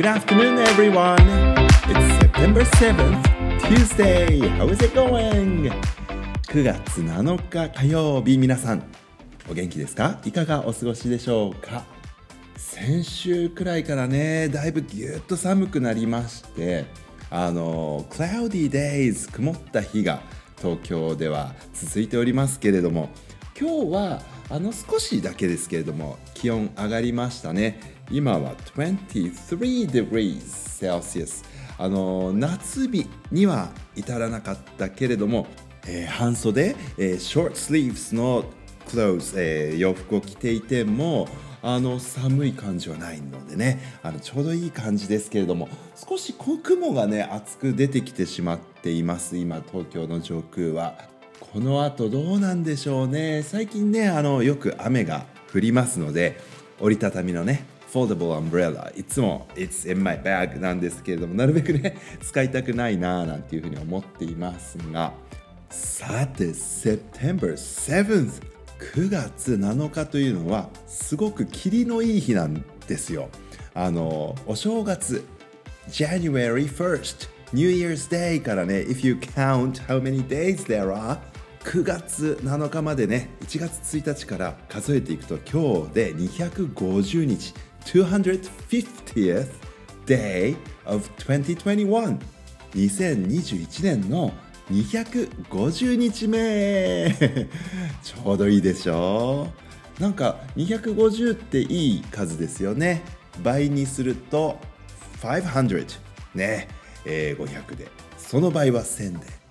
Good afternoon, everyone. It's September 7th, Tuesday. How is it going? 9月7日火曜日、皆さんお元気ですか？いかがお過ごしでしょうか？先週くらいからね、だいぶぎゅっと寒くなりまして、cloudy days 曇った日が東京では続いておりますけれども、今日は少しだけですけれども気温上がりましたね。今は23 degrees Celsius、夏日には至らなかったけれども、半袖、short sleeves の clothes、洋服を着ていても寒い感じはないのでね、ちょうどいい感じですけれども、少し雲がね厚く出てきてしまっています。今東京の上空は。この後どうなんでしょうね。最近ねよく雨が降りますので、折りたたみのねfoldable umbrella いつも It's in my bag なんですけれども、なるべくね使いたくないななんていうふうに思っていますが、さて September 7th 9月7日というのはすごく霧のいい日なんですよ。お正月 January 1st New Year's Day からね If you count how many days there are 9月7日までね、1月1日から数えていくと今日で250日 250th day of 2021 2021年の250日目ちょうどいいでしょう。なんか250っていい数ですよね。倍にすると500ね、500で、その倍は1000で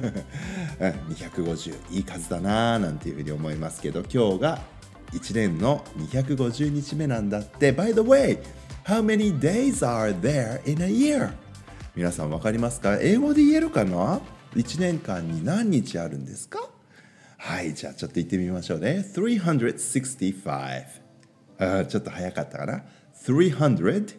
250いい数だななんていうふうに思いますけど、今日が1年の250日目なんだって。 By the way, how many days are there in a year? 皆さん分かりますか？英語で言えるかな？1年間に何日あるんですか？はい、じゃあちょっと言ってみましょうね。365、ちょっと早かったかな。365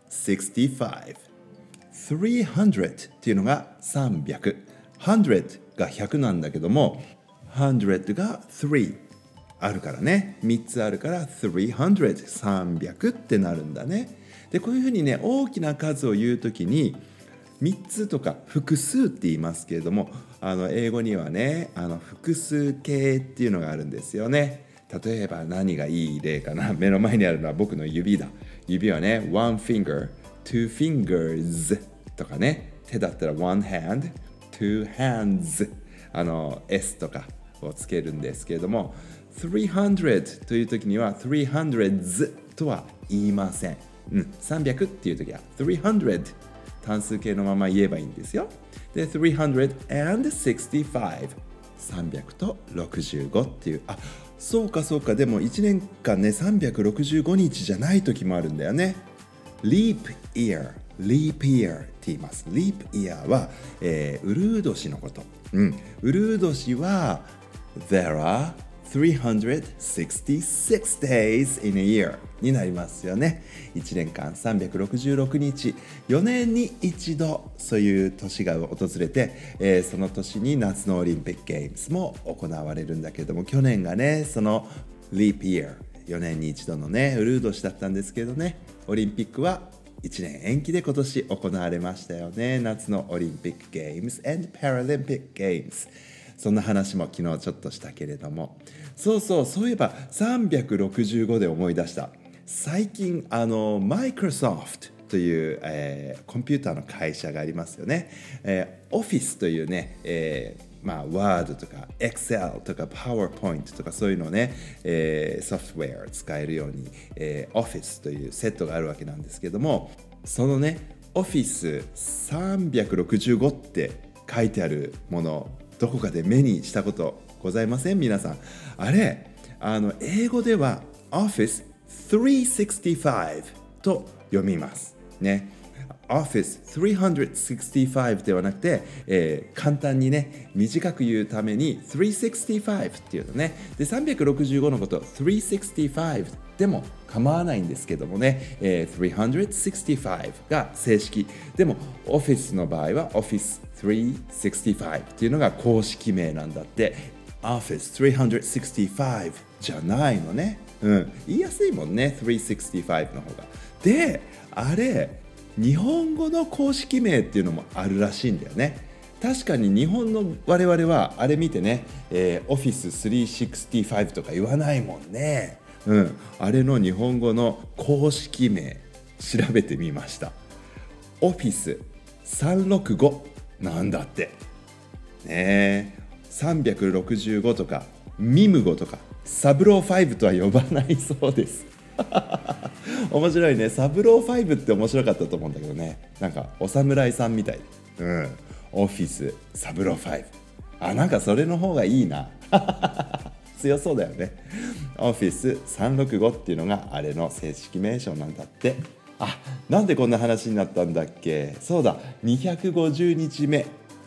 300っていうのが300、100が100なんだけども、100が3あるからね、3つあるから300、300ってなるんだね。でこういうふうにね、大きな数を言うときに3つとか複数って言いますけれども、英語にはね複数形っていうのがあるんですよね。例えば何がいい例かな。目の前にあるのは僕の指だ。指はね one finger two fingers とかね、手だったら one hand two hands S とかをつけるんですけれども、300という時には 300s とは言いません。300っていう時は300単数形のまま言えばいいんですよ。で365 300と65っていう、そうかそうか。でも1年間ね365日じゃない時もあるんだよね。Leap year って言います。Leap year は、うるう年のこと。うるう年は There are 366 days in a year になりますよね。1年間366日、4年に一度そういう年が訪れて、その年に夏のオリンピックゲームズも行われるんだけれども、去年がねその Leap year 4年に一度のねうるう年だったんですけどね、オリンピックは1年延期で今年行われましたよね。夏のオリンピックゲームズ and パラリンピックゲームズ、そんな話も昨日ちょっとしたけれども、そういえば365で思い出した。最近Microsoft という、コンピューターの会社がありますよね。Office というね、Word とか Excel とか PowerPoint とかそういうのをね、ソフトウェアを使えるように、Office というセットがあるわけなんですけども、そのね Office 365って書いてあるもの、どこかで目にしたことございません？皆さん。あれ英語では Office 365と読みますね。Office 365ではなくて、簡単にね短く言うために365っていうのね。で365のこと365でも構わないんですけどもね、365が正式でも Office の場合は Office 365っていうのが公式名なんだって。 Office 365じゃないのね。言いやすいもんね、365の方が。であれ日本語の公式名っていうのもあるらしいんだよね。確かに日本の我々はあれ見てね、Office365 とか言わないもんね。あれの日本語の公式名調べてみました。Office365 なんだってね。365とかミムゴとかサブロー5とは呼ばないそうです面白いね。サブロー5って面白かったと思うんだけどね。なんかお侍さんみたい。オフィスサブロー5。なんかそれの方がいいな強そうだよね。オフィス365っていうのがあれの正式名称なんだって。なんでこんな話になったんだっけ。そうだ、250日目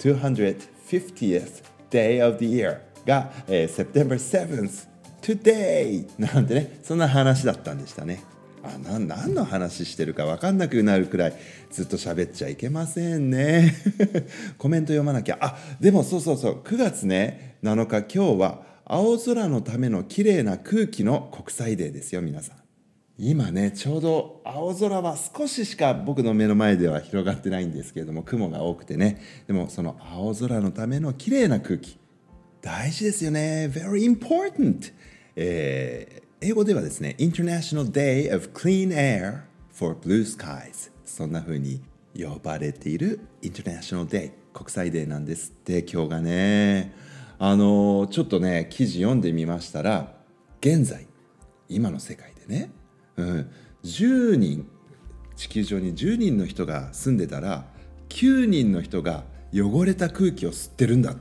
250th day of the year が、September 7th today なんてね、そんな話だったんでしたね。何の話してるか分かんなくなるくらいずっと喋っちゃいけませんねコメント読まなきゃ。でもそう9月ね7日、今日は青空のための綺麗な空気の国際デーですよ。皆さん今ねちょうど青空は少ししか僕の目の前では広がってないんですけれども、雲が多くてね。でもその青空のための綺麗な空気大事ですよね。 Very important。英語ではですね International Day of Clean Air for Blue Skies、 そんな風に呼ばれている International Day 国際デーなんですって。今日がねちょっとね記事読んでみましたら、現在今の世界でね、10人地球上に10人の人が住んでたら9人の人が汚れた空気を吸ってるんだって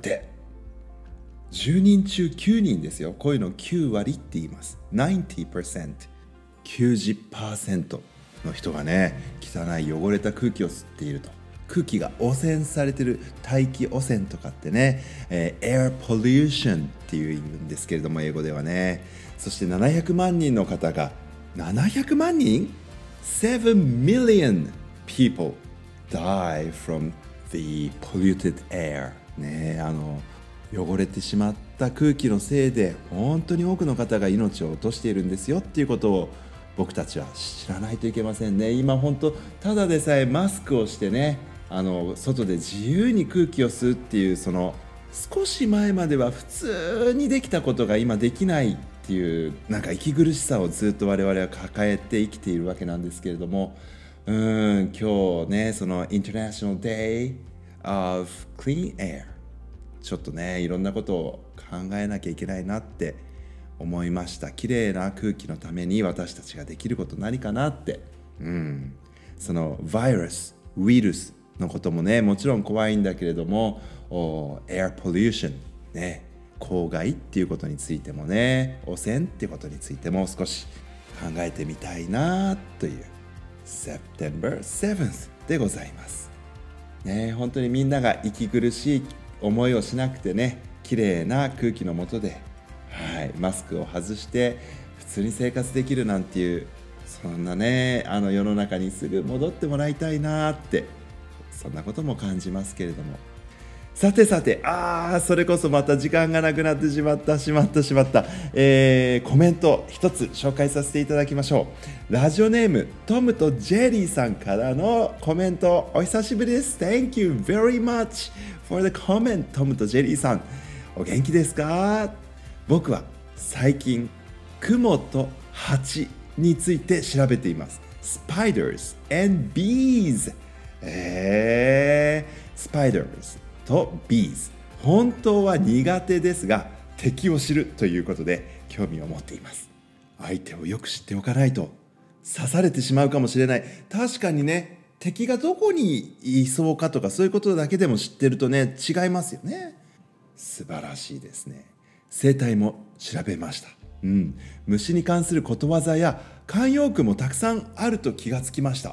。10人中9人ですよ。こういうの9割って言います。 90%、 90% の人がね汚い汚れた空気を吸っていると。空気が汚染されてる、大気汚染とかってね、air pollution っていうんですけれども、英語ではね。そして700万人の方が、700万人 ?7 million people die from the polluted air ね。汚れてしまった空気のせいで本当に多くの方が命を落としているんですよっていうことを僕たちは知らないといけませんね。今本当ただでさえマスクをしてね、外で自由に空気を吸うっていう、その少し前までは普通にできたことが今できないっていう、なんか息苦しさをずっと我々は抱えて生きているわけなんですけれども、今日ねその International Day of Clean Air、ちょっとねいろんなことを考えなきゃいけないなって思いました。綺麗な空気のために私たちができること何かなって。そのウイルスのこともねもちろん怖いんだけれども、エアポリューションね、公害っていうことについてもね、汚染っていうことについても少し考えてみたいなという September 7th でございますね。本当にみんなが息苦しい思いをしなくてね、綺麗な空気の下で、マスクを外して普通に生活できるなんていう、そんなね世の中にすぐ戻ってもらいたいなって、そんなことも感じますけれども。さてそれこそまた時間がなくなってしまった。コメント一つ紹介させていただきましょう。ラジオネームトムとジェリーさんからのコメント、お久しぶりです。 Thank you very much for the comment。 トムとジェリーさん、お元気ですか？僕は最近雲と蜂について調べています。 Spiders and bees、Spidersと bees、 本当は苦手ですが敵を知るということで興味を持っています。相手をよく知っておかないと刺されてしまうかもしれない。確かにね、敵がどこにいそうかとかそういうことだけでも知ってるとね違いますよね。素晴らしいですね。生態も調べました。虫に関することわざや慣用句もたくさんあると気がつきました。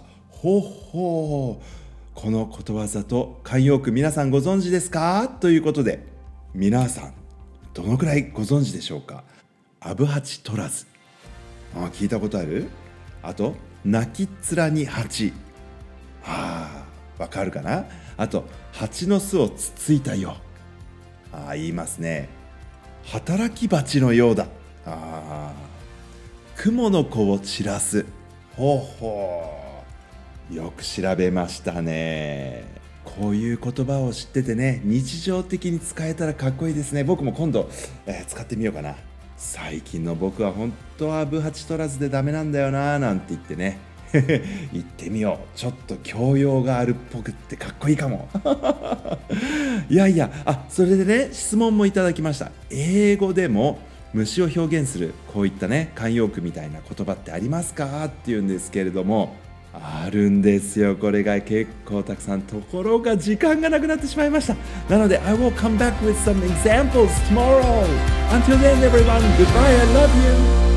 このことわざと慣用句皆さんご存知ですか？ということで、皆さんどのくらいご存知でしょうか？アブハチ取らず、聞いたことある？あと泣きっ面に蜂、わかるかな？あと蜂の巣をつついたよ、言いますね。働き蜂のようだ、雲の子を散らす、 よく調べましたね。こういう言葉を知っててね、日常的に使えたらかっこいいですね。僕も今度、使ってみようかな。最近の僕は本当は部8取らずでダメなんだよななんて言ってね言ってみよう。ちょっと教養があるっぽくってかっこいいかもいやいや、それでね、質問もいただきました。英語でも虫を表現するこういったね慣用句みたいな言葉ってありますかっていうんですけれども、あるんですよ。これが結構たくさん。ところが時間がなくなってしまいました。なので I will come back with some examples tomorrow. Until then everyone, goodbye, I love you.